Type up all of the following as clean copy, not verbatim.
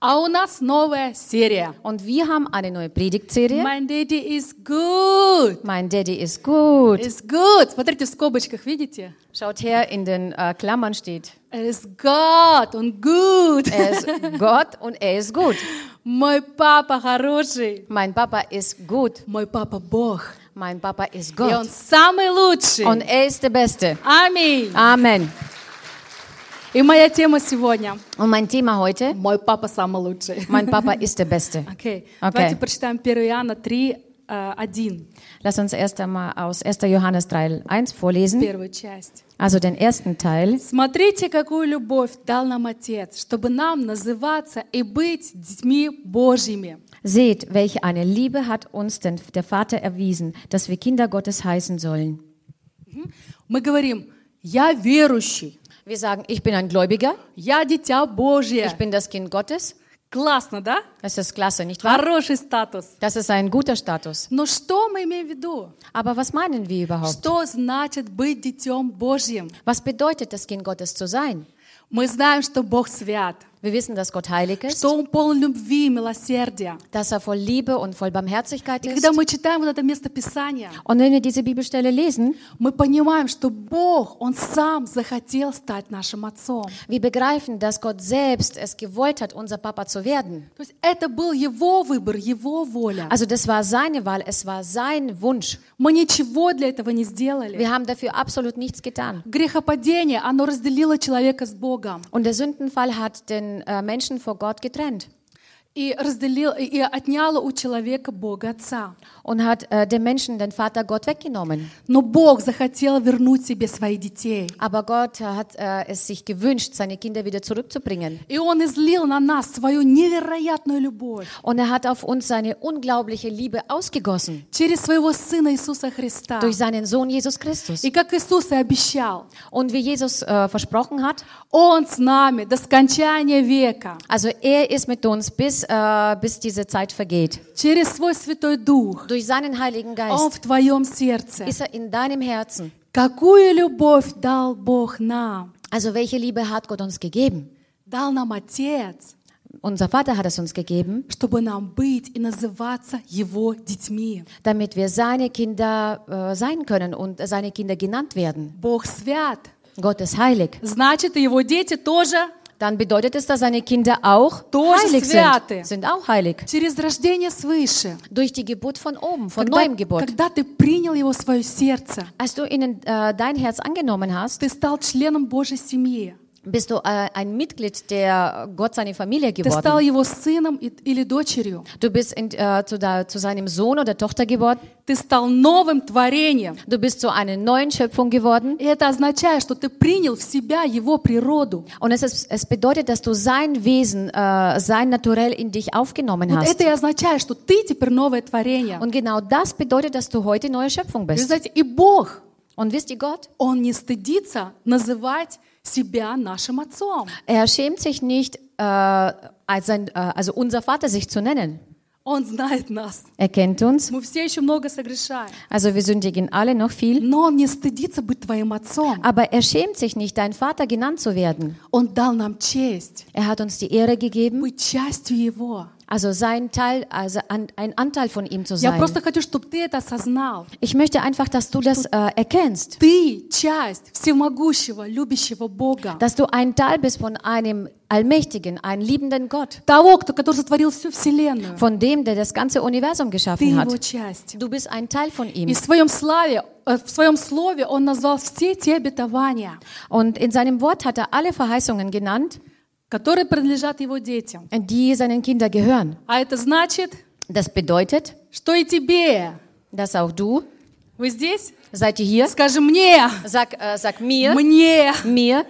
А у нас новая серия. Und wir haben eine neue Predigtserie. My daddy is good. Mein Daddy ist gut. Is good. Смотрите, в скобочках, видите? Schaut her, in den Klammern steht, Is God, он good. er ist Gott und er ist gut. Мой папа хороший. Mein Papa ist gut. Мой папа Бог. Mein Papa ist И он Gott. самый лучший. Und er ist der Beste. Аминь. Amen. И моя тема сегодня. Und mein Thema heute, Мой папа самый лучший. mein Papa ist der Beste. Окей. Okay. Давайте прочитаем 1 Иоанна 3, 1. Lass uns erst einmal aus 1. Johannes 3,1 vorlesen. Первую часть. Also den ersten Teil. Смотрите, какую любовь дал нам Отец, чтобы нам называться и быть детьми Божьими. Seht, welche eine Liebe hat uns denn der Vater erwiesen, dass wir Kinder Gottes heißen sollen. Мы говорим, я верующий, Wir sagen, ich bin ein Gläubiger, я дитя Божье. ich bin das Kind Gottes. Классно, да? Das ist klasse, nicht wahr? Хороший статус. Das ist ein guter Status. Но что мы имеем в виду? Aber was meinen wir überhaupt? Что значит быть детем Божьим? Was bedeutet das Kind Gottes zu sein? Мы знаем, что Бог свят, Wir wissen, dass Gott heilig ist, что Он полон любви и милосердия. dass er voll Liebe und voll Barmherzigkeit И ist. когда мы читаем вот это место Писания, Und wenn wir diese Bibelstelle lesen, мы понимаем, что Бог, Он сам захотел стать нашим отцом. wir begreifen, dass Gott selbst es gewollt hat, unser Papa zu werden. То есть это был Его выбор, Его воля. Also das war seine Wahl, es war sein Wunsch. Мы ничего для этого не сделали. Wir haben dafür absolut nichts getan. Грехопадение, оно разделило человека с Богом. Und der Sündenfall hat den Menschen vor Gott getrennt И отняло у человека Бога Отца. und hat dem Menschen den Vater Gott weggenommen. Но Бог захотел вернуть себе своих детей. Aber Gott hat es sich gewünscht, seine Kinder wieder zurückzubringen. И Он излил на нас свою невероятную любовь Und er hat auf uns seine unglaubliche Liebe ausgegossen через своего Сына Иисуса Христа. durch seinen Sohn Jesus Christus. И как Иисус и обещал, Und wie Jesus versprochen hat, Он с нами до скончания века. also er ist mit uns bis diese Zeit vergeht. Через свой Святой Дух Durch seinen Heiligen Он Geist в твоем сердце. ist er in deinem Herzen. Какую любовь дал Бог нам? Also welche Liebe hat Gott uns gegeben? Дал нам Отец, Unser Vater hat es uns gegeben, чтобы нам быть и называться Его детьми. damit wir seine Kinder sein können und seine Kinder genannt werden. Bог свят. Gott ist heilig. Значит, и Его дети тоже Dann bedeutet es, dass seine Kinder auch Тоже heilig святы. sind auch heilig. через рождение свыше. Durch die Geburt von oben, von neuem Geburt. Когда ты принял Его в свое сердце, Als du dein Herz angenommen hast, ты стал членом Божьей семьи. bist du ein Mitglied, der Gott seine Familie Ты стал geworden. Его сыном или дочерью. Du bist zu seinem Sohn oder Tochter geworden. Ты стал новым творением. Du bist zu einer neuen Schöpfung geworden. И это означает, что ты принял в себя Его природу. Und es bedeutet, dass du sein Wesen, sein Naturell in dich aufgenommen Вот hast. это и означает, что ты теперь новое творение. Und genau das bedeutet, dass du heute neue Schöpfung Вы bist. знаете, и Бог, Und wisst ihr Gott? Он не стыдится называть себя нашим отцом. Er schämt sich nicht, also unser Vater sich zu nennen. Он знает нас. Er kennt uns. Мы все еще много согрешаем. Also wir sündigen alle noch viel. Но Он не стыдится быть твоим отцом. Aber er schämt sich nicht, dein Vater genannt zu werden. Он дал нам честь Er hat uns die Ehre gegeben, быть частью Его. also sein Teil, also ein Anteil von ihm zu Я sein. просто хочу, чтобы ты это осознал. Ich möchte einfach, dass du das erkennst, Ты часть всемогущего, любящего Бога. dass du ein Teil bist von einem allmächtigen, einen liebenden Gott, Того, который сотворил всю Вселенную. von dem, der das ganze Universum Ты geschaffen Его hat. часть. Du bist ein Teil von И ihm. в своем слове Он назвал все те обетования, Und in seinem Wort hat er alle Verheißungen genannt, которые принадлежат Его детям. die seinen Kindern gehören. А это значит, Das bedeutet, что и тебе. dass auch du, Вы здесь? seid ihr hier? Скажи мне. Sag mir, Мне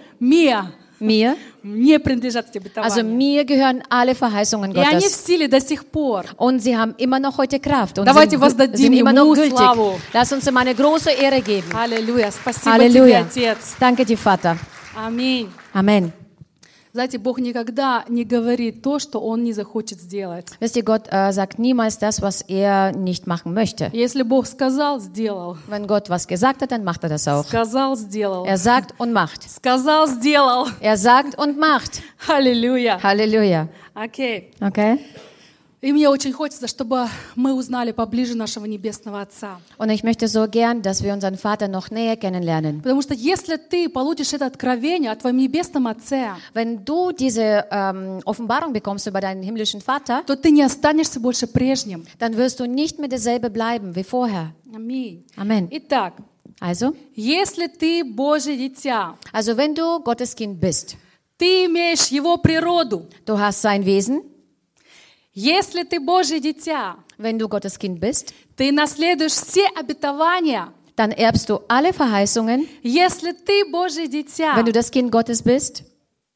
mir, принадлежат эти also обетования. mir gehören alle Verheißungen И они в Gottes. силе до сих пор. Und sie haben immer noch heute Kraft und Давайте sind воздадим immer noch ему gültig. славу. Lass uns ihm eine große Ehre geben. Аллилуйя. Спасибо Halleluja. тебе, Отец. Danke dir, Vater. Аминь. Amen. Знаете, Бог никогда не говорит то, что Он не захочет сделать. Wisst ihr, Gott sagt niemals das, was er nicht machen möchte. Если Бог сказал, сделал. Wenn Gott was gesagt hat, dann macht er das auch. Сказал, сделал. Er sagt und macht. Сказал, сделал. Er sagt und macht. Аллилуйя. Halleluja. Окей. Okay? И мне очень хочется, чтобы мы узнали поближе нашего Небесного Отца. Und ich möchte so gern, dass wir unseren Vater noch näher kennenlernen. Потому что если ты получишь это откровение о твоем Небесном Отце, Wenn du diese Offenbarung bekommst über deinen himmlischen Vater, то ты не останешься больше прежним. dann wirst du nicht mehr derselbe bleiben wie vorher. Аминь. Amen. Итак, Also, если ты Божье дитя, also wenn du Gottes Kind bist, ты имеешь Его природу. du hast sein Wesen, Если ты Божье дитя, wenn du Gottes Kind bist, ты наследуешь все обетования. dann erbst du alle Verheißungen. Если ты Божье дитя, Wenn du das Kind Gottes bist,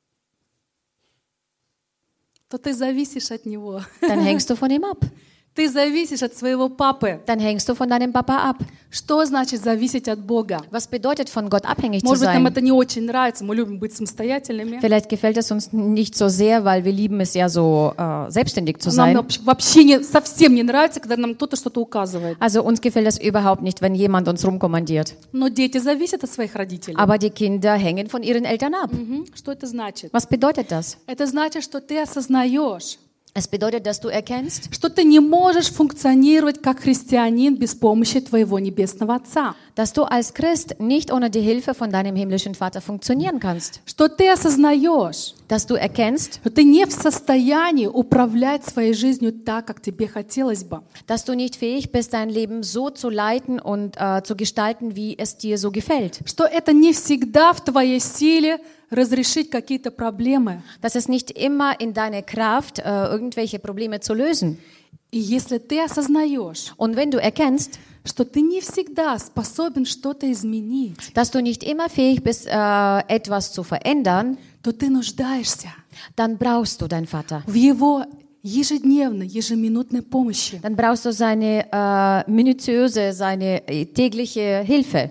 то ты зависишь от Него. dann hängst du von ihm ab. Ты зависишь от своего папы. Dann hängst du von deinem Papa ab. Что значит зависеть от Бога? Was bedeutet, von Gott abhängig zu Может быть, нам sein? это не очень нравится, мы любим быть самостоятельными. Vielleicht gefällt es uns nicht so sehr, weil wir lieben es ja so, selbstständig zu Нам sein. вообще совсем не нравится, когда нам кто-то что-то указывает. Also uns gefällt es überhaupt nicht, wenn jemand uns rumkommandiert. Но дети зависят от своих родителей. Aber die Kinder hängen von ihren Eltern ab. Что это значит? Was bedeutet das? Это значит, что ты осознаешь, Es bedeutet, dass du erkennst, что ты не можешь функционировать как христианин без помощи твоего Небесного Отца. dass du als Christ nicht ohne die Hilfe von deinem himmlischen Vater funktionieren kannst. Что ты осознаешь, Dass du erkennst, что ты не в состоянии управлять своей жизнью так, как тебе хотелось бы. dass du nicht fähig bist, dein Leben so zu leiten und zu gestalten, wie es dir so gefällt. Что это не всегда в твоей силе разрешить какие-то проблемы. Dass es nicht immer in deiner Kraft, irgendwelche Probleme zu lösen. И если ты осознаешь, Und wenn du erkennst, что ты не всегда способен что-то изменить, dass du nicht immer fähig bist, etwas zu verändern, то ты нуждаешься dann brauchst du deinen Vater. в Его ежедневной, ежеминутной помощи. Dann brauchst du seine minutiöse, seine tägliche Hilfe.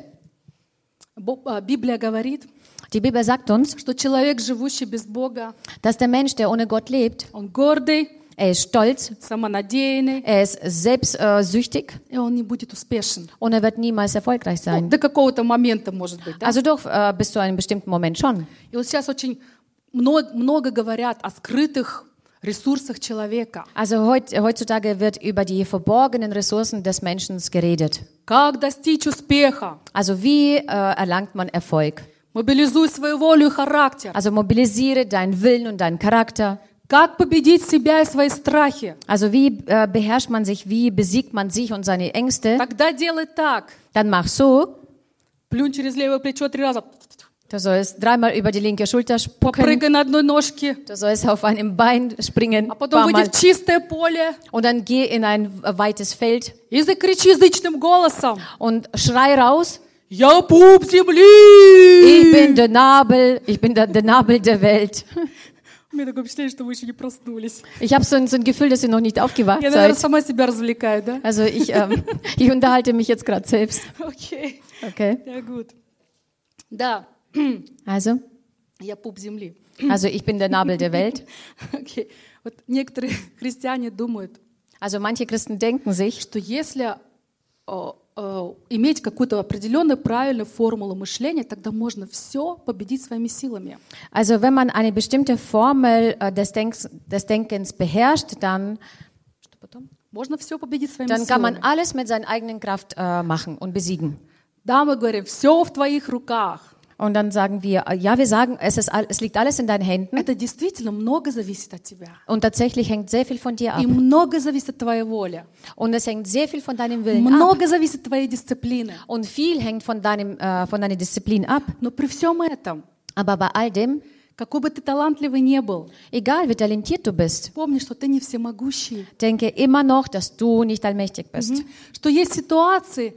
Библия говорит, Die Bibel sagt uns, что человек, живущий без Бога, dass der Mensch, der ohne Gott lebt, он гордый, er ist stolz, самонадеянный, er ist selbstsüchtig и он не будет успешен. und er wird niemals erfolgreich sein. До какого-то момента, может быть. Да? Also doch bis zu einem bestimmten Moment schon. И вот сейчас очень много говорят о скрытых ресурсах человека. Also heutzutage wird über die verborgenen Ressourcen des Menschen geredet. Как достичь успеха? Also wie erlangt man Erfolg? Мобилизуй свою волю и характер. Also mobilisiere deinen Willen und deinen Charakter. Как победить себя и свои страхи? Also wie beherrscht man sich, wie besiegt man sich und seine Ängste? Тогда делай так. Dann mach so. Плюнь через левое плечо 3 раза. Du sollst dreimal über die linke Schulter spucken. Попрыгай на одной ножке. Du sollst auf einem Bein springen. А потом выйди Mal. в чистое поле Und dann geh in ein weites Feld и закричи язычным голосом. und schrei raus. Я пуп Ich земли! bin der Nabel der Welt. У меня такое впечатление, что вы еще не проснулись. Ich habe so ein Gefühl, dass ihr noch nicht aufgewacht Я, наверное, seid. сама себя развлекаю, да? Also ich unterhalte mich jetzt gerade selbst. Окей. Okay. Ja, gut. Да, Also я пуп земли. ich bin der Nabel der Welt. Окей. Вот некоторые христиане думают, Also manche Christen denken sich, что если иметь какую-то определенную правильную формулу мышления, тогда можно все победить своими силами. also wenn man eine bestimmte Formel des Denkens beherrscht, dann Можно все победить своими kann man силами. alles mit seiner eigenen Kraft machen und besiegen. Да, мы говорим, все в твоих руках. Und dann sagen wir, ja, wir sagen, es liegt alles in deinen Händen. Это действительно много зависит от тебя. Und tatsächlich hängt sehr viel von dir ab. И много зависит от твоей воли. Und es hängt sehr viel von deinem Willen ab. Много зависит от твоей дисциплины. Und viel hängt von deiner Disziplin ab. Но при всем этом, Aber bei all dem, какой бы ты талантливый не был, egal wie talentiert du bist, помни, что ты не всемогущий. denke immer noch, dass du nicht allmächtig bist. Что есть ситуации,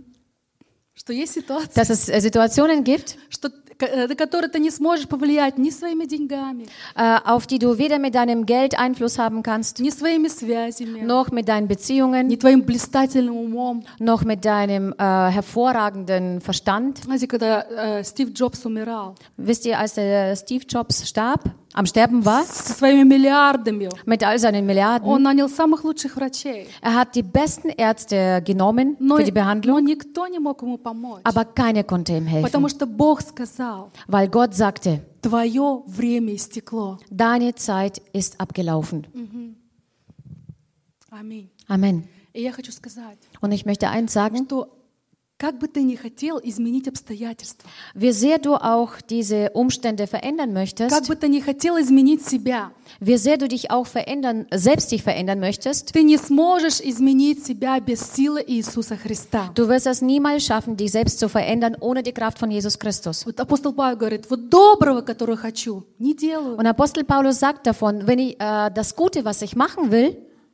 Dass es Situationen gibt, на которые ты не сможешь повлиять ни своими деньгами, auf die du weder mit deinem Geld Einfluss haben kannst, ни своими связями, noch mit deinen Beziehungen, ни твоим блистательным умом. noch mit deinem hervorragenden Verstand. Знаете, когда Стив Джобс умирал, Wisst ihr, als der Steve Jobs starb, am Sterben war, со своими миллиардами. mit all seinen Milliarden. Он нанял самых лучших врачей. Er hat die besten Ärzte genommen für die Но Behandlung, никто не мог ему помочь. aber keiner konnte ihm helfen, Потому что Бог сказал, weil Gott sagte, твое время истекло. deine Zeit ist abgelaufen. Аминь. Amen. И я хочу сказать, Und ich möchte eins sagen, что как бы ты ни хотел изменить обстоятельства, wie sehr du auch diese Umstände verändern как möchtest, бы ты ни хотел изменить себя, wie sehr du dich auch selbst dich verändern möchtest, ты не сможешь изменить себя без силы Иисуса Христа. du wirst es niemals schaffen, dich selbst zu verändern, ohne die Kraft von Jesus Christus. Вот апостол Павел говорит, вот доброго, которое хочу, не делаю, Und Apostel Paulus sagt davon, wenn ich das Gute, was ich machen will,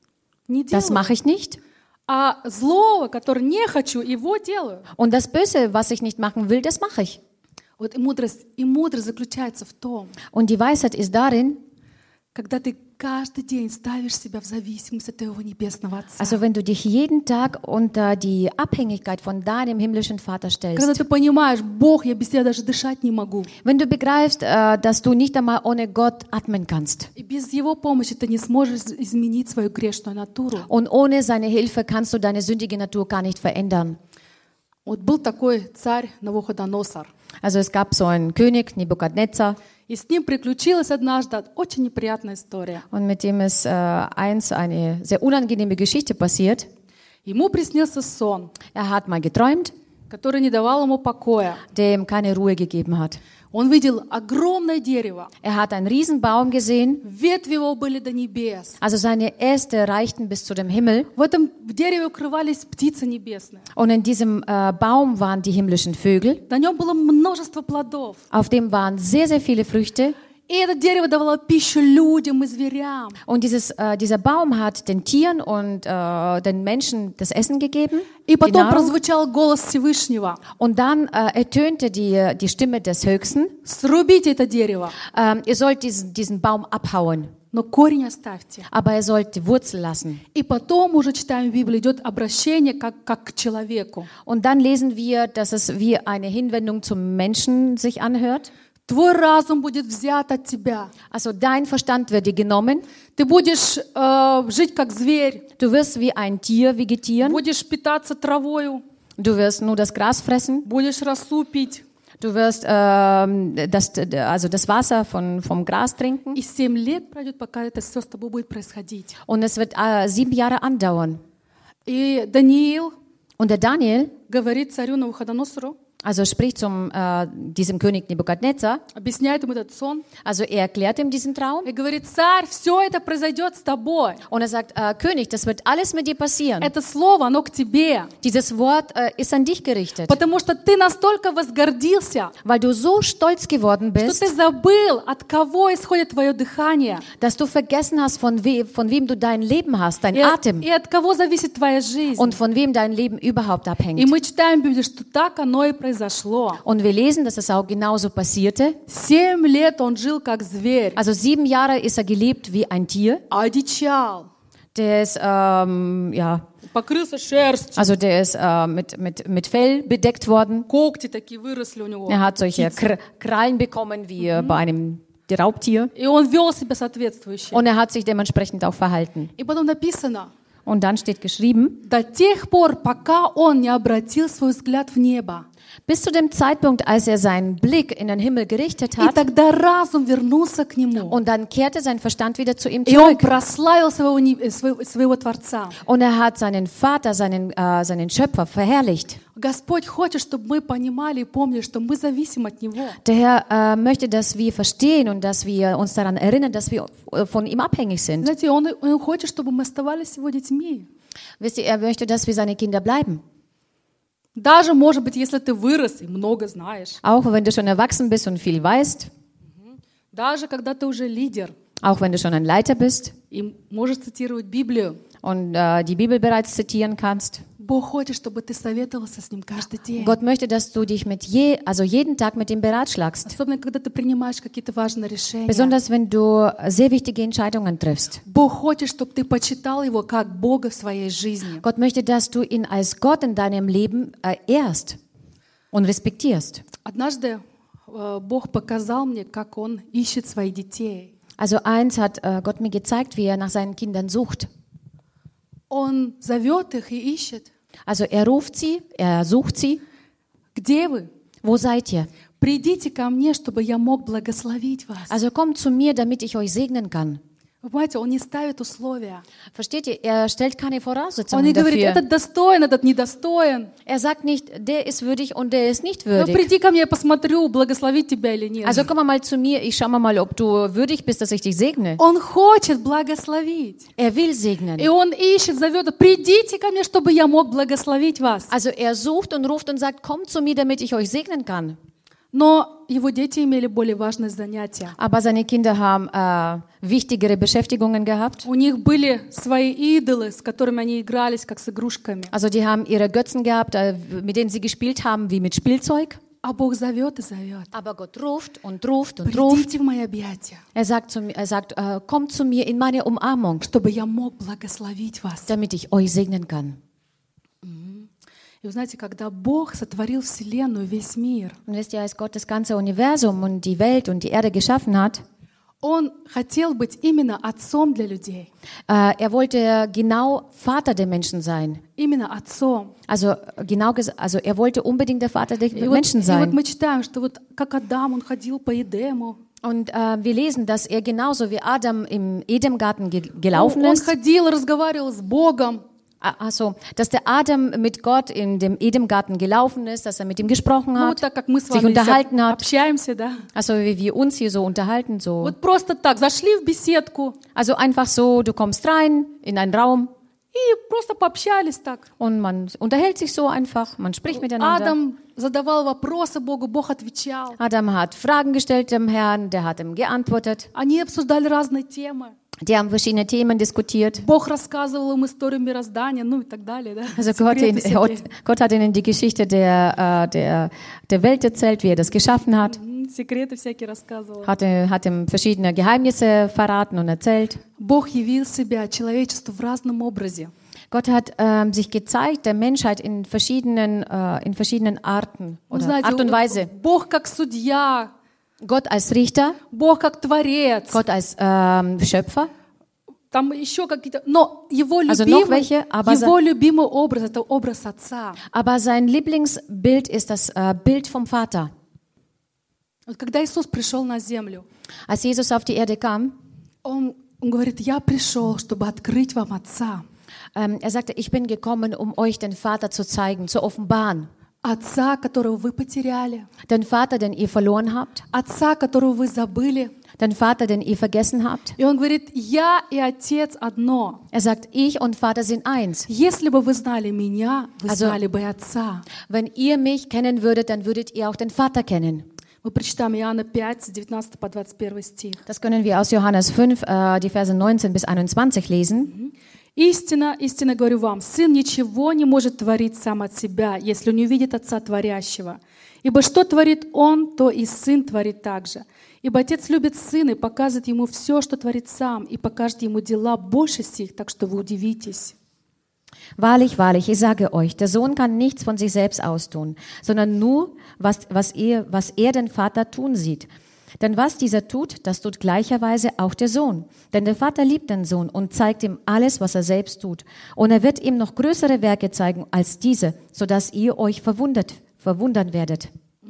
не das делаю, mache ich nicht. а злого, которое не хочу, его делаю. Und das Böse, was ich nicht machen will, das mache ich. Вот и мудрость заключается в том, Und die Weisheit ist darin, когда ты каждый день ставишь себя в зависимость от твоего небесного Отца. also wenn du dich jeden Tag unter die Abhängigkeit von deinem himmlischen Vater Когда stellst, ты понимаешь, Бог, я без тебя даже дышать не могу. wenn du begreifst, dass du nicht einmal ohne Gott atmen kannst И без Его помощи ты не сможешь изменить свою грешную натуру. und ohne seine Hilfe kannst du deine sündige Natur gar nicht verändern. Вот был такой царь Навуходоносор. Also es gab so einen König, Nebukadnezar, И с ним приключилась однажды очень неприятная история. und mit dem ist eine sehr unangenehme Geschichte passiert. Ему приснился сон, Er hat mal geträumt, который не давал ему покоя. der ihm keine Ruhe gegeben hat. Он видел огромное дерево. Er hat einen Riesenbaum gesehen, Ветви его были до небес. also seine Äste reichten bis zu dem Himmel. В этом дереве укрывались птицы небесные. Und in diesem Baum waren die himmlischen Vögel. На нем было множество плодов. Auf dem waren sehr, sehr viele Früchte. И это дерево давало пищу людям и зверям. Und dieser Baum hat den Tieren und den Menschen das Essen gegeben. И Die потом Nahrung. прозвучал голос Всевышнего. Und dann ertönte die Stimme des Höchsten. Срубите это дерево, Ihr sollt diesen Baum abhauen, но корень оставьте. aber ihr sollt die Wurzel lassen. И потом уже читаем в Библии, идет обращение как к человеку. Und dann lesen wir, dass es wie eine Hinwendung zum Menschen sich anhört. Твой разум будет взят от тебя. Also dein Verstand wird dir genommen. Ты будешь жить как зверь, Du wirst wie ein Tier vegetieren. будешь питаться травою, Du wirst nur das Gras fressen. будешь росу пить. Du wirst das Wasser vom Gras trinken. И 7 лет пройдет, пока это все с тобой будет происходить. Und es wird 7 Jahre andauern. И Даниил Und der Daniel, говорит царю Навуходоносору, also spricht diesem König Nebukadnezar, объясняет ему этот сон, also er erklärt ihm diesen Traum. и говорит, царь, все это произойдет с тобой. Und er sagt, König, das wird alles mit dir passieren. Это слово, оно к тебе. Dieses Wort ist an dich gerichtet, Потому что ты настолько возгордился, weil du so stolz geworden что bist, ты забыл, от кого исходит твое дыхание, dass du vergessen hast, von wem du dein Leben hast, dein Atem, и от кого зависит твоя жизнь. und von wem dein Leben überhaupt И abhängt. мы читаем в Библии, что так оно и произошло. Und wir lesen, dass es auch genauso passierte. 7 лет он жил как зверь, Also 7 Jahre ist er gelebt wie ein Tier. одичал, Der ist, покрылся шерстью, also der ist mit Fell bedeckt worden. когти такие выросли у него. Er hat solche Krallen bekommen wie bei einem Raubtier. И он вел себя соответствующе. Und er hat sich dementsprechend auch verhalten. И потом написано, Und dann steht geschrieben, до тех пор, пока он не обратил свой взгляд в небо. bis zu dem Zeitpunkt, als er seinen Blick in den Himmel gerichtet И hat, тогда разум вернулся к нему. und dann kehrte sein Verstand wieder zu ihm И он zurück. прославил своего Творца. Und er hat seinen Vater, seinen Schöpfer verherrlicht. Господь хочет, чтобы мы понимали и помнили, что мы зависим от Него. Der Herr möchte, dass wir verstehen und dass wir uns daran erinnern, dass wir von ihm abhängig sind. Знаете, Он хочет, чтобы мы оставались Его детьми. Wisst ihr, er möchte, dass wir seine Kinder bleiben. Даже, может быть, если ты вырос и много знаешь. Auch wenn du schon erwachsen bist und viel weißt, Даже когда ты уже лидер auch wenn du schon ein Leiter bist и можешь цитировать Библию. und die Bibel bereits zitieren kannst. Бог хочет, чтобы ты советовался с Ним каждый день. Gott möchte, dass du dich jeden Tag mit ihm beratschlagst. Особенно, когда ты принимаешь какие-то важные решения. Besonders wenn du sehr wichtige Entscheidungen triffst. Бог хочет, чтобы ты почитал Его как Бога в своей жизни. Gott möchte, dass du ihn als Gott in deinem Leben ehrst und respektierst. Однажды Бог показал мне, как Он ищет своих детей. Also eins hat Gott mir gezeigt, wie er nach seinen Kindern sucht. Он зовет их и ищет. Also er ruft sie, er sucht sie. Где вы? Wo seid ihr? Придите ко мне, чтобы я мог благословить вас. Also kommt zu mir, damit ich euch segnen kann. Вы понимаете, Он не ставит условия. Versteht ihr? Er stellt keine Он не Voraussetzungen говорит, dafür. этот достоин, этот недостоин. Er sagt nicht, der ist würdig und der ist nicht Ну, würdig. приди ко мне, я посмотрю, благословить тебя или нет. Also komm mal zu mir, ich schau mal, ob du würdig bist, dass ich dich segne. Он хочет благословить. Er will segnen. И Он ищет, зовет, придите ко мне, чтобы я мог благословить вас. Also er sucht und ruft und sagt, kommt zu mir, damit ich euch segnen kann. Но его дети имели более важное занятие. Aber seine Kinder haben wichtigere Beschäftigungen gehabt. У них были свои идолы, с которыми они игрались, как с игрушками. Also die haben ihre Götzen gehabt, mit denen sie gespielt haben, wie mit Spielzeug. А Бог зовет и зовет. Aber Gott ruft und ruft und ruft. Придите в мои объятия, Er sagt, kommt zu mir in meine Umarmung, чтобы я мог благословить вас. damit ich euch segnen kann. И вы знаете, когда Бог сотворил Вселенную, весь мир, Und wisst ihr, als Gott das ganze Universum und die Welt und die Erde geschaffen hat, Он хотел быть именно отцом для людей. er wollte genau Vater der Menschen sein. Именно отцом. Also also er wollte unbedingt der Vater der И Menschen вот sein. мы читаем, что вот как Адам, он ходил по Эдему. Und wir lesen, dass er genauso wie Adam im Edemgarten gelaufen Он ist. ходил, разговаривал с Bogом. Also, dass der Adam mit Gott in dem Edemgarten gelaufen ist, dass er mit ihm gesprochen Ну, вот hat, так как мы с sich вами unterhalten hat. общаемся, да? Also wie wir uns hier so unterhalten, so. Вот просто так, зашли в беседку Also einfach so, du kommst rein in einen Raum и просто пообщались так. und man unterhält sich so einfach, man spricht miteinander. Адам задавал вопросы Богу, Бог отвечал. Adam hat Fragen gestellt dem Herrn, der hat ihm geantwortet. Они обсуждали разные темы. Die haben verschiedene Themen diskutiert. Бог рассказывал им историю мироздания, ну и так далее, да? Also Секреты всякие. Gott hat ihnen die Geschichte der Welt erzählt, wie er das geschaffen hat. Секреты всякие рассказывал. Hat ihm verschiedene Geheimnisse verraten und erzählt. Бог явил себя человечеству в разном образе. Gott hat sich gezeigt der Menschheit in verschiedenen Arten Вы oder знаете, Art und Weise. Бог как судья, Gott als Richter, Бог как творец. Gott als Schöpfer. Там еще какие-то... Но его Also noch welche, любимый образ — это образ отца. Aber sein Lieblingsbild ist das Bild vom Vater. Вот когда Иисус пришел на землю, Als Jesus auf die Erde kam, Он говорит, я пришел, чтобы открыть вам отца. er sagte, ich bin gekommen, um euch den Vater zu zeigen, zu offenbaren. Отца, которого вы потеряли. Den Vater, den ihr verloren habt. Отца, которого вы забыли. Den Vater, den ihr vergessen habt. И Он говорит, я и Отец одно. Er sagt, ich und Vater sind eins. Если бы вы знали меня, вы знали бы Отца. Wenn ihr mich kennen würdet, dann würdet ihr auch den Vater kennen. Мы прочитаем Иоанна 5, с 19 по 21 стих. Das können wir aus Johannes 5, die Verse 19 bis 21 lesen. «Истина, истинно говорю вам, Сын ничего не может творить сам от себя, если не увидит Отца Творящего. Ибо что творит Он, то и Сын творит также. Ибо Отец любит Сына и показывает Ему все, что творит Сам, и покажет Ему дела больше сих, так что вы удивитесь». Wahrlich, wahrlich, ich sage euch, der Sohn kann nichts von sich selbst austun, sondern nur, was er den Vater tun sieht. Denn was dieser tut, das tut gleicherweise auch der Sohn. Denn der Vater liebt den Sohn und zeigt ihm alles, was er selbst tut. Und er wird ihm noch größere Werke zeigen als diese, sodass ihr euch verwundern werdet.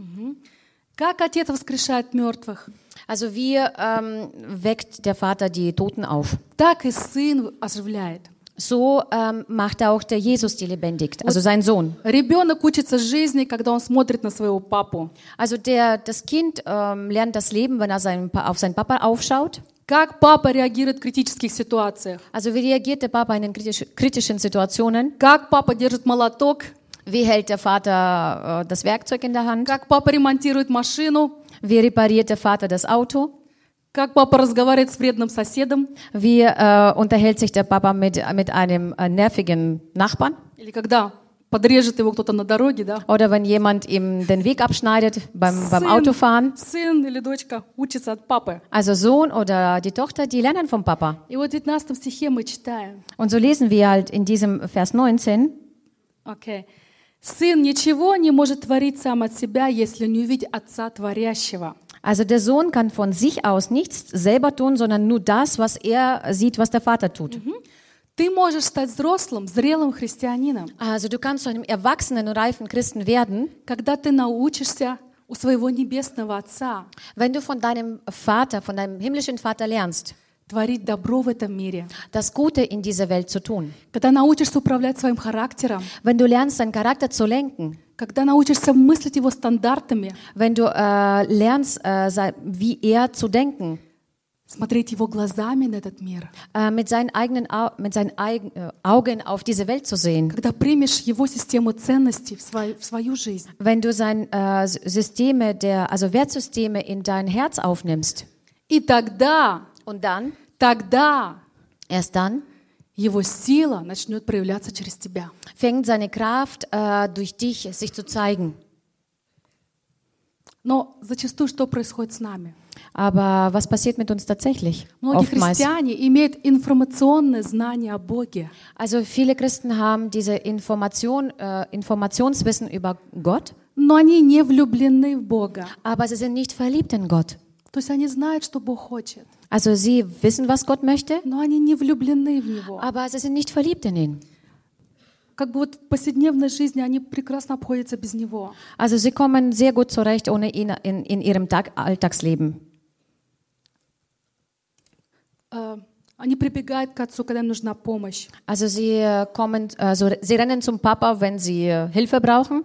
Как Отец воскрешает мертвых, Also wie weckt der Vater die Toten auf? так и Сын оживляет. So macht auch der Jesus die lebendig, also sein Sohn. Ребенок учится жизни, когда он смотрит на своего папу. Also das Kind lernt das Leben, wenn er auf seinen Papa aufschaut. Как папа реагирует в критических ситуациях. Also wie reagiert der Papa in den kritischen Situationen? Как папа держит молоток. Wie hält der Vater das Werkzeug in der Hand? Как папа ремонтирует машину. Wie repariert der Vater das Auto? Как папа разговаривает с вредным соседом. Wie unterhält sich der Papa mit einem nervigen Nachbarn? Или когда подрежет его кто-то на дороге, да? Oder wenn jemand ihm den Weg abschneidet beim Autofahren. Сын или дочка учится от папы. Also Sohn oder die Tochter, die lernen vom Papa. И вот в 19 стихе мы читаем. Und so lesen wir halt in diesem Vers 19. Okay. Сын ничего не может творить сам от себя, если не увидит Отца Творящего. Also der Sohn kann von sich aus nichts selber tun, sondern nur das, was er sieht, was der Vater tut. Ты можешь стать взрослым, зрелым христианином, Also du kannst zu einem erwachsenen und reifen Christen werden, когда ты научишься у своего небесного Отца wenn du von deinem Vater, von deinem himmlischen Vater lernst, творить добро в этом мире, das Gute in dieser Welt zu tun. когда научишься управлять своим характером, Wenn du lernst, deinen Charakter zu lenken, когда научишься мыслить его стандартами, wenn du lernst, wie er zu denken, смотреть его глазами на этот мир, mit seinen Augen auf diese Welt zu sehen. когда примешь его систему ценностей в свою жизнь, Wenn du seine Systeme, also Wertsysteme in dein Herz aufnimmst. и тогда, Und dann, erst dann, его сила начнет проявляться через тебя. fängt seine Kraft durch dich sich zu zeigen. Но зачастую что происходит с нами? Aber was passiert mit uns tatsächlich? Многие Oftmals. христиане имеют информационное знание о Боге, Also viele Christen haben diese Informationswissen über Gott, но они не влюблены в Бога. aber sie sind nicht verliebt in Gott. То есть они знают, что Бог хочет, Also sie wissen, was Gott möchte, но они не влюблены в Него. aber sie sind nicht verliebt in ihn. Как бы вот в повседневной жизни они прекрасно обходятся без Него. Also sie kommen sehr gut zurecht ohne ihn in ihrem Alltagsleben. Они прибегают к Отцу, когда им нужна помощь. Also sie sie rennen zum Papa, wenn sie Hilfe brauchen.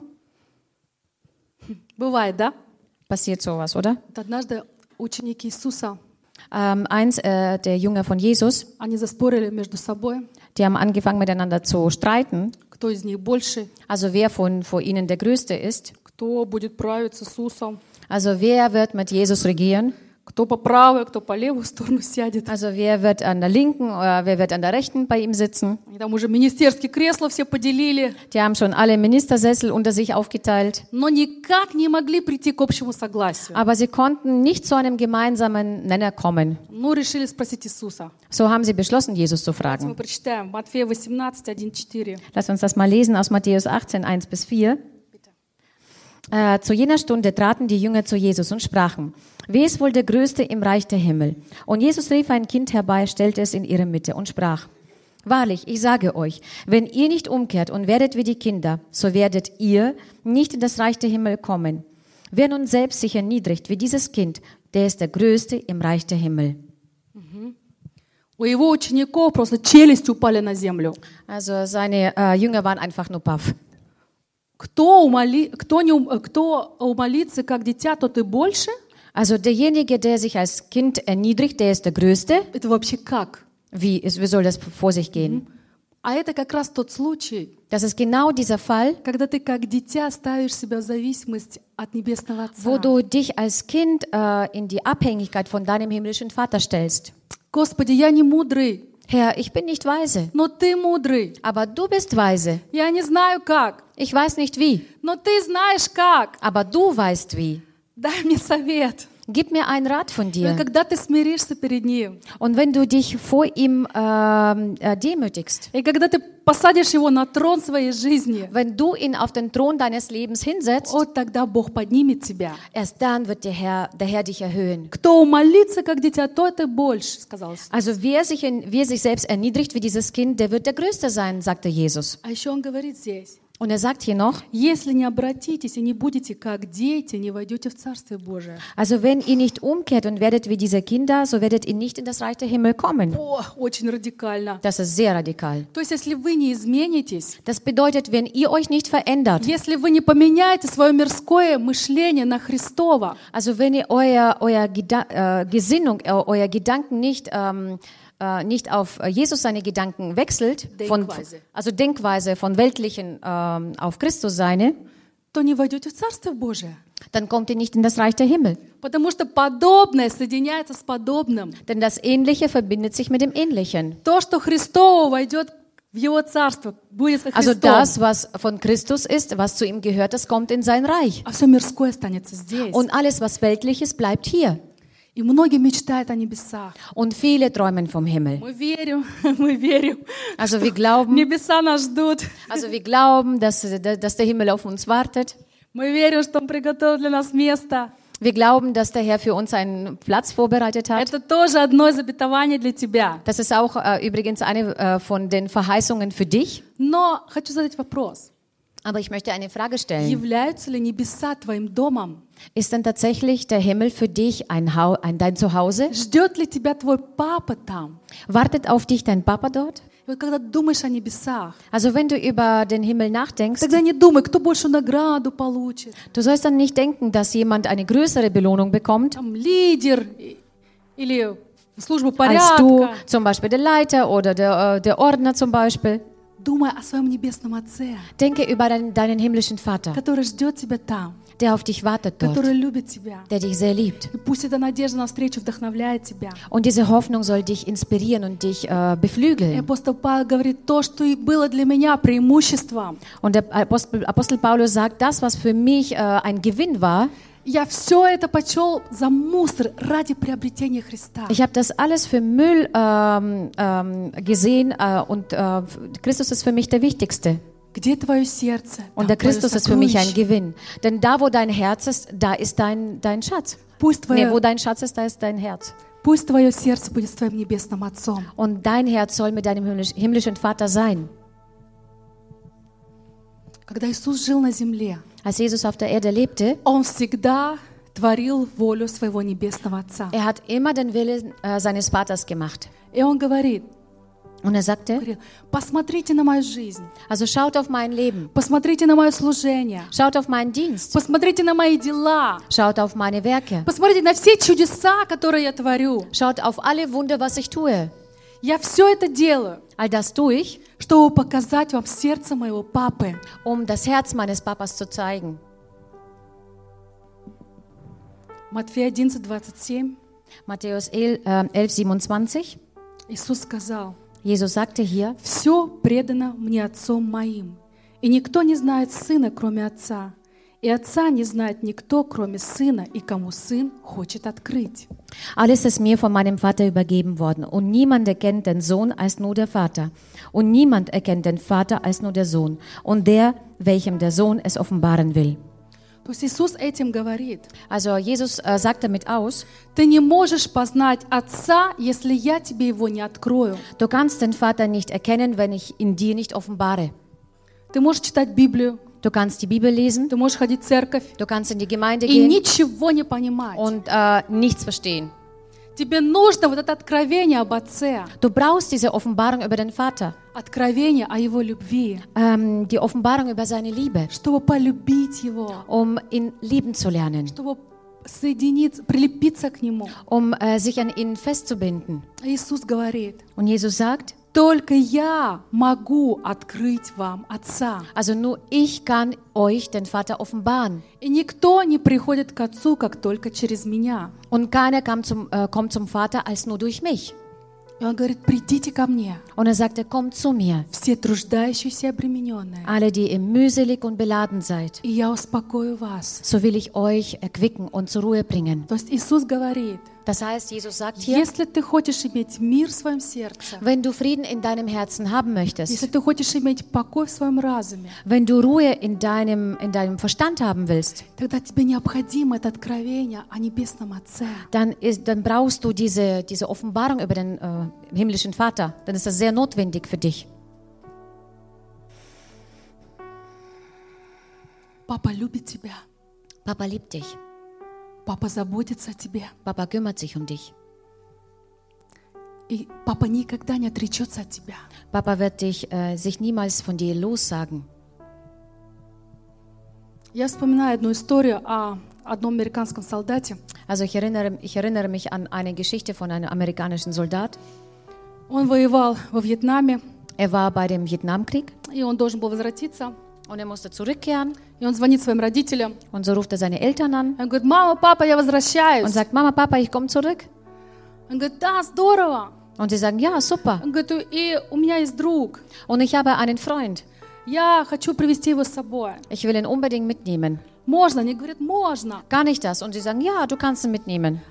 Бывает, да? Passiert sowas, oder? Вот однажды ученики Иисуса, Eins der Jünger von Jesus, они заспорили между собой, die haben angefangen miteinander zu streiten. кто из них больше, Also wer vor ihnen der Größte ist. кто будет править с Иисусом, Also wer wird mit Jesus regieren? кто по правую, кто по левую сторону сядет. Also wer wird an der linken oder wer wird an der rechten bei ihm sitzen? Они там уже министерские кресла все поделили, Die haben schon alle Ministersessel unter sich aufgeteilt. но никак не могли прийти к общему согласию. Aber sie konnten nicht zu einem gemeinsamen Nenner kommen. Ну, решили спросить Иисуса. So haben sie beschlossen, Jesus zu Мы fragen. прочитаем Матфея 18, 1-4. Lass uns das mal lesen aus Matthäus 18, 1-4. Zu jener Stunde traten die Jünger zu Jesus und sprachen, wer ist wohl der Größte im Reich der Himmel? Und Jesus rief ein Kind herbei, stellte es in ihre Mitte und sprach, wahrlich, ich sage euch, wenn ihr nicht umkehrt und werdet wie die Kinder, so werdet ihr nicht in das Reich der Himmel kommen. Wer nun selbst sich erniedrigt wie dieses Kind, der ist der Größte im Reich der Himmel. У его учеников просто челюсти упали на землю. Also seine Jünger waren einfach nur baff. Кто умолится, как дитя, тот и больше? Also derjenige, der sich als Kind erniedrigt, der ist der Größte. Это вообще как? Wie soll das vor sich gehen? А это как раз тот случай, Das ist genau dieser Fall, когда ты как дитя ставишь себя в зависимость от Небесного Отца. wo du dich als Kind in die Abhängigkeit von deinem himmlischen Vater stellst. Господи, я не мудрый, Herr, ich bin nicht weise, но Ты мудрый. aber du bist weise. Я не знаю как, Ich weiß nicht wie, но Ты знаешь как. aber du weißt wie. Дай мне совет. Gib mir einen Rat von И dir. когда ты смиришься перед Ним, Und wenn du dich vor ihm demütigst, и когда ты посадишь Его на трон своей жизни, wenn du ihn auf den Thron deines Lebens hinsetzt, вот тогда Бог поднимет тебя. erst dann wird der Herr dich erhöhen. Кто умолится, как дитя, тот и больше, сказал Иисус. Also wer sich selbst erniedrigt wie dieses Kind, der wird der Größte sein, sagte Jesus. А еще Он говорит здесь, Und er sagt hier noch, если не обратитесь и не будете как дети, не войдете в Царствие Божие. also wenn ihr nicht umkehrt und werdet wie diese Kinder, so werdet ihr nicht in das Reich der Himmel kommen. О, очень радикально. Das ist sehr radikal. То есть, если вы не изменитесь, Das bedeutet, wenn ihr euch nicht verändert, если вы не поменяете свое мирское мышление на Христово, also wenn ihr euer Gesinnung, euer Gedanken nicht auf Jesus seine Gedanken wechselt, also Denkweise von weltlichen auf Christus seine, то не войдете в Царствие Божие. dann kommt ihr nicht in das Reich der Himmel. Потому что подобное соединяется с подобным. Denn das Ähnliche verbindet sich mit dem Ähnlichen. То, что Христово войдет в Его Царство, будет со Also Христом. das, was von Christus ist, was zu ihm gehört, das kommt in sein Reich. А все мирское останется здесь. Und alles, was weltlich ist, bleibt hier. И И многие мечтают о небесах. Und viele träumen vom Himmel. Мы верим, Also wir glauben, небеса нас ждут. dass der Himmel auf uns wartet. Мы верим, что Он приготовил для нас место. Wir glauben, dass der Herr für uns einen Platz vorbereitet hat. Это тоже одно из обетований для тебя. Das ist auch übrigens eine von den Verheißungen für dich. Но хочу задать вопрос. Aber ich möchte eine Frage stellen. Являются ли небеса твоим домом? Ist denn tatsächlich der Himmel für dich dein Zuhause? Ждет ли тебя твой папа там? Wartet auf dich dein Papa dort? И вот когда ты думаешь о небесах, Also wenn du über den Himmel nachdenkst, тогда не думай, кто большую награду получит. du sollst dann nicht denken, dass jemand eine größere Belohnung bekommt, Там лидер или служба als du, порядка. zum Beispiel der Leiter oder der Ordner zum Beispiel. Думай о своем небесном Отце, Denke über deinen himmlischen Vater, который ждет тебя там, der auf dich wartet dort, который любит тебя. der dich sehr liebt. И пусть эта надежда на встречу вдохновляет тебя. Und diese Hoffnung soll dich inspirieren und dich И beflügeln. апостол Павел говорит, то, что и было для меня преимуществом, Und der Apostel Paulus sagt, das, was für mich ein Gewinn war, я все это почел за мусор ради приобретения Христа. ich habe das alles für Müll gesehen und Christus ist für mich der Wichtigste. Где твое сердце? Und Там der твое Christus ist für mich ein сокровище. Gewinn. Denn da, wo dein Herz ist, da ist dein Schatz. Пусть Nee, wo твое, dein Schatz ist, da ist dein Herz. пусть твое сердце будет с твоим небесным Отцом. Und dein Herz soll mit deinem himmlischen Vater sein. Когда Иисус жил на земле, Als Jesus auf der Erde lebte, Он всегда творил волю своего небесного Отца. er hat immer den Willen seines Vaters gemacht. И Он говорит, Und er sagte, говорил, посмотрите на мою жизнь, also schaut auf mein Leben, посмотрите на мое служение, schaut auf meinen Dienst, посмотрите на мои дела, schaut auf meine Werke, посмотрите на все чудеса, которые я творю. schaut auf alle Wunder, was ich tue. Я все это делаю, All das tue ich, чтобы показать вам сердце моего папы. um das Herz meines Papas zu zeigen. Матфея 11, 27. Matthäus 11:27. Иисус сказал, Jesus sagte hier, «Все предано мне Отцом моим, и никто не знает Сына, кроме Отца, и Отца не знает никто, кроме Сына, и кому Сын хочет открыть». alles ist mir von meinem Vater übergeben worden und niemand erkennt den Sohn als nur der Vater und niemand erkennt den Vater als nur der Sohn und der, welchem der Sohn es offenbaren will. То есть Иисус этим говорит, Also Jesus sagt damit aus, ты не можешь познать Отца, если я тебе его не открою. du kannst den Vater nicht erkennen, wenn ich ihn dir nicht offenbare. Ты можешь читать Библию, Du kannst die Bibel lesen, ты можешь ходить в церковь du kannst in die Gemeinde и gehen ничего не понимать. und nichts verstehen. Тебе нужно вот это откровение об Отце, Du brauchst diese Offenbarung über den Vater, откровение о Его любви, die Offenbarung über seine Liebe, чтобы полюбить Его, um ihn lieben zu lernen, чтобы соединиться, прилепиться к Нему. um sich an ihn festzubinden. Иисус говорит, Und Jesus sagt, только я могу открыть вам Отца. also nur ich kann euch den Vater offenbaren. И никто не приходит к Отцу, как только через меня. Und keiner kommt zum Vater als nur durch mich. И Он говорит, придите ко мне, Und er sagte, kommt zu mir, все труждающиеся и обремененные, alle, die ihr mühselig und beladen seid. и я успокою вас. So will ich euch erquicken und zur Ruhe bringen. То есть Иисус говорит, Das heißt, Jesus sagt hier, если ты хочешь иметь мир в своем сердце, wenn du Frieden in deinem Herzen haben если möchtest, ты хочешь иметь покой в своем разуме, wenn du Ruhe in deinem Verstand haben willst, тогда тебе необходимо это откровение о Небесном Отце. dann brauchst du diese Offenbarung über den himmlischen Vater. Dann ist das sehr notwendig für dich. Папа любит тебя. Papa liebt dich. Папа заботится о тебе. Papa kümmert sich um dich. И папа никогда не отречется от тебя. Papa wird sich niemals von dir lossagen. Я вспоминаю одну историю о одном американском солдате. Also ich erinnere mich an eine Geschichte von einem amerikanischen Soldat. Он воевал во Вьетнаме, Er war bei dem Vietnamkrieg и он должен был возвратиться. und er musste zurückkehren. И он звонит своим родителям. Und so ruft er seine Eltern an Он говорит, мама, папа, я und возвращаюсь. sagt, Mama, Papa, ich komme zurück. Он говорит, да, здорово. Und sie sagen, ja, super. Он говорит, и у меня есть друг. Und ich habe einen Freund. Я хочу привезти его с собой. Ich will ihn unbedingt mitnehmen. Можно? Они говорят, можно. Gar nicht das. Und sie sagen, ja, du kannst ihn mitnehmen.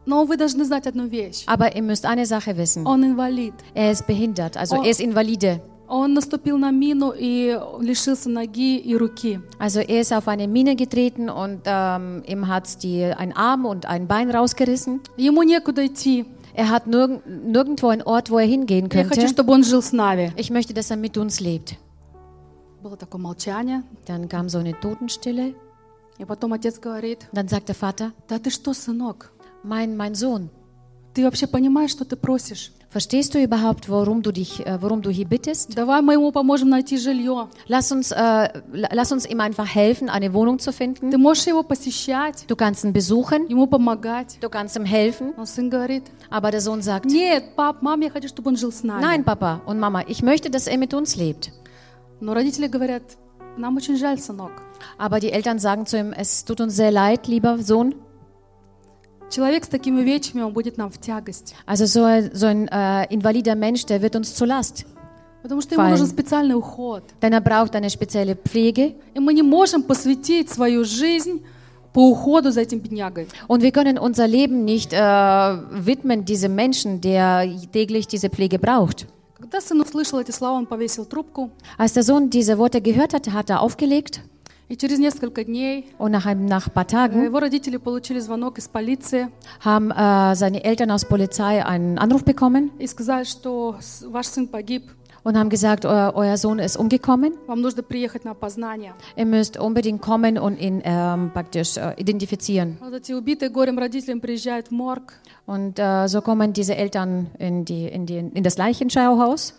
Но вы должны знать одну вещь. Aber ihr müsst eine Sache wissen. Он инвалид. Er ist behindert, also Oh. er ist Invalide. Он наступил на мину и лишился ноги и руки. Also er ist auf eine Mine getreten und ihm hat ein Arm und ein Bein rausgerissen. Ему некуда идти. Er hat nirgendwo einen Ort, wo er hingehen Я хочу, könnte. чтобы он жил с нами. Ich möchte, dass er mit uns lebt. Было такое молчание. Dann kam so eine Totenstille. И потом отец говорит: Dann sagt der Vater, да ты что, сынок? mein Sohn, Ты вообще понимаешь, что ты просишь? verstehst du überhaupt, worum du hier bittest? Давай мы ему поможем найти жилье. Lass uns ihm einfach helfen, eine Wohnung zu finden. Ты можешь его посещать, Du kannst ihn besuchen, ему помогать. du kannst ihm helfen. Но сын говорит: Aber der Sohn sagt, нет, пап, мам, я хочу, чтобы он жил с нами. nein, Papa und Mama, ich möchte, dass er mit uns lebt. Но родители говорят: нам очень жаль, сынок. Aber die Eltern sagen zu ihm, es tut uns sehr leid, lieber Sohn. Человек с такими увечьями, он будет нам в тягость. Also so ein invalider Mensch, der wird uns zur Last. Потому что ему Fallen. нужен специальный уход. Denn er braucht eine spezielle Pflege. И мы не можем посвятить свою жизнь по уходу за этим беднягой. Und wir können unser Leben nicht widmen diesem Menschen, der täglich diese Pflege braucht. Когда сын услышал эти слова, он повесил трубку. Als der Sohn diese Worte gehört hatte, hat er aufgelegt. И через несколько дней Und nach ein paar Tagen его родители получили звонок из полиции haben seine Eltern aus Polizei einen Anruf bekommen и сказали, что ваш сын погиб. und haben gesagt, euer Sohn ist umgekommen. Вам нужно приехать на опознание. Ihr müsst unbedingt kommen und ihn praktisch identifizieren. Вот эти убитые горем родители приезжают в морг. Und so kommen diese Eltern in das Leichenschauhaus.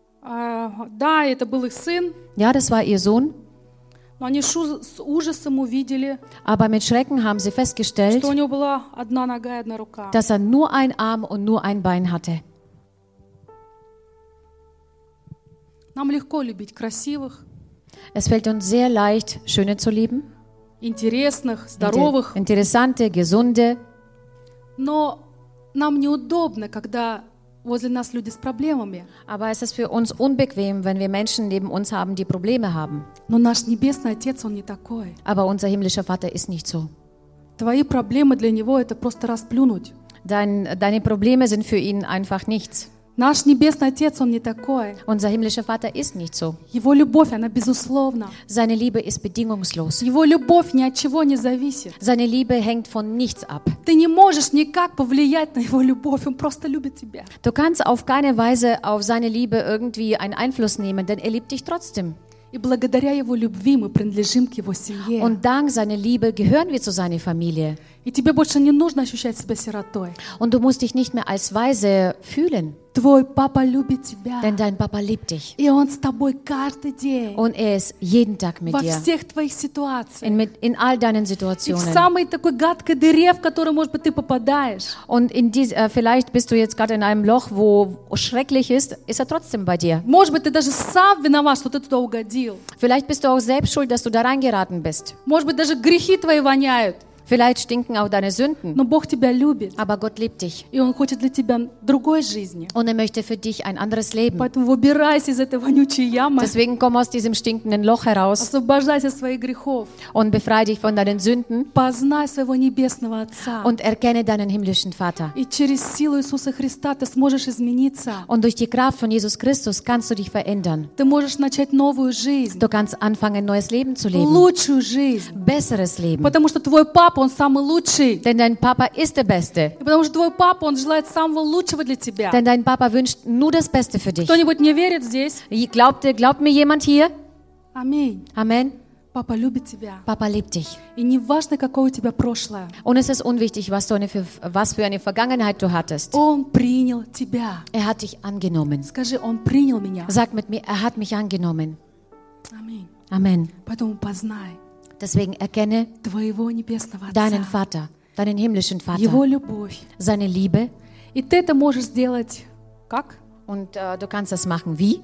Да, это был их сын, Ja, das war ihr Sohn. но они с ужасом увидели, Aber mit Schrecken haben sie festgestellt, что у него была одна нога и одна рука. dass er nur einen Arm und nur ein Bein hatte. Нам легко любить красивых, Es fällt uns sehr leicht, Schöne zu lieben, интересных, здоровых, interessante, gesunde. но нам неудобно, когда возле нас люди с проблемами. Aber es ist für uns unbequem, wenn wir Menschen neben uns haben, die Probleme haben. Но наш Небесный Отец, Он не такой. Aber unser himmlischer Vater ist nicht so. Твои проблемы для Него — это просто расплюнуть. Deine Probleme sind für ihn einfach nichts. Наш Небесный Отец, Он не такой. Unser himmlischer Vater ist nicht so. Его любовь, она безусловна. Seine Liebe ist bedingungslos. Его любовь ни от чего не зависит. Seine Liebe hängt von nichts ab. Ты не можешь никак повлиять на Его любовь. Он просто любит тебя. Du kannst auf keine Weise auf seine Liebe irgendwie einen Einfluss nehmen, denn er liebt dich trotzdem. И благодаря Его любви мы принадлежим к Его семье. Und dank seiner Liebe gehören wir zu seiner Familie. И тебе больше не нужно ощущать себя сиротой. Und du musst dich nicht mehr als Waise fühlen, Твой папа любит тебя. denn dein Papa liebt dich. И Он с тобой каждый день. Und er ist jeden Tag mit Во dir. всех твоих ситуациях. In all deinen И в Situationen. самой такой гадкой дыре, в которую, может быть, ты попадаешь. Und vielleicht bist du jetzt gerade in einem Loch, wo schrecklich ist er trotzdem bei dir. Может быть, ты даже сам виноват, что ты туда угодил. Vielleicht bist du auch selbst schuld, dass du da reingeraten bist. Может быть, даже грехи твои воняют. Vielleicht stinken auch deine Sünden. Но Бог тебя любит. Aber Gott liebt dich. И Он хочет для тебя другой жизни. Und er möchte für dich ein anderes Leben. Поэтому выбирайся из этой вонючей ямы. Deswegen komm aus diesem stinkenden Loch heraus Освобождайся от своих грехов. und befreie dich von deinen Sünden Познай своего Небесного Отца. und erkenne deinen himmlischen Vater. И через силу Иисуса Христа ты сможешь измениться. Und durch die Kraft von Jesus Christus kannst du dich verändern. Ты можешь начать новую жизнь. Du kannst anfangen, ein neues Leben zu leben. Лучшую жизнь. Besseres Leben. Потому что твой папа, он самый лучший. Denn dein Papa ist der Beste. И потому что твой папа, он желает самого лучшего для тебя. Denn dein Papa wünscht nur das Beste für dich. Кто-нибудь мне верит здесь? Glaubt mir jemand hier? Аминь. Amen. Папа любит тебя. Papa liebt dich. И не важно, какое у тебя прошлое. Und es ist unwichtig, was für eine Vergangenheit du hattest. Он принял тебя. Er hat dich angenommen. Скажи, Он принял меня. Sag mit mir, er hat mich angenommen. Аминь. Amen. Поэтому познай Deswegen erkenne твоего Небесного deinen Отца. Vater, deinen himmlischen Его Vater, любовь. seine Liebe. И ты это можешь сделать как? Und du kannst das machen. Wie?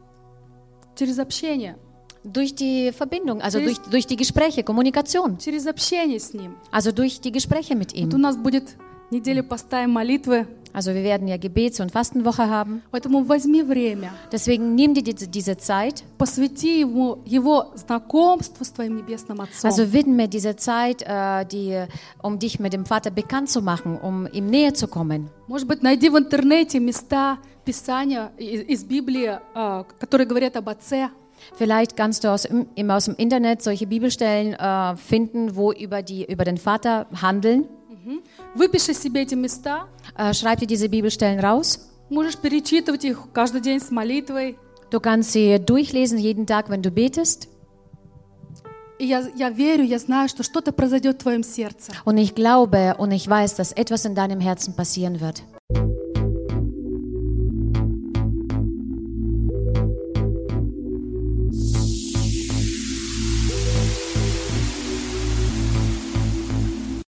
Через общение. Durch die Verbindung, also Через- durch die Gespräche, Kommunikation. Через общение с Ним. Also durch die Gespräche mit Вот у ihm. нас будет неделя поста и молитвы. Also wir werden ja Gebets- und Fastenwoche haben. Поэтому возьми время, Deswegen nimm dir diese Zeit. посвяти ему его знакомству с твоим небесным Отцом. Also widme diese Zeit, um dich mit dem Vater bekannt zu machen, um ihm näher zu kommen. Может быть, найди в интернете места Писания из Библии, которые говорят об Отце. Vielleicht kannst du aus dem Internet solche Bibelstellen finden, wo über den Vater handeln. Выпиши себе эти места. Schreib dir diese Bibelstellen raus. Можешь перечитывать их каждый день с молитвой. Du kannst sie durchlesen jeden Tag, wenn du betest. И я верю, я знаю, что что-то произойдет в твоем сердце. Und ich glaube und ich weiß, dass etwas in deinem Herzen passieren wird.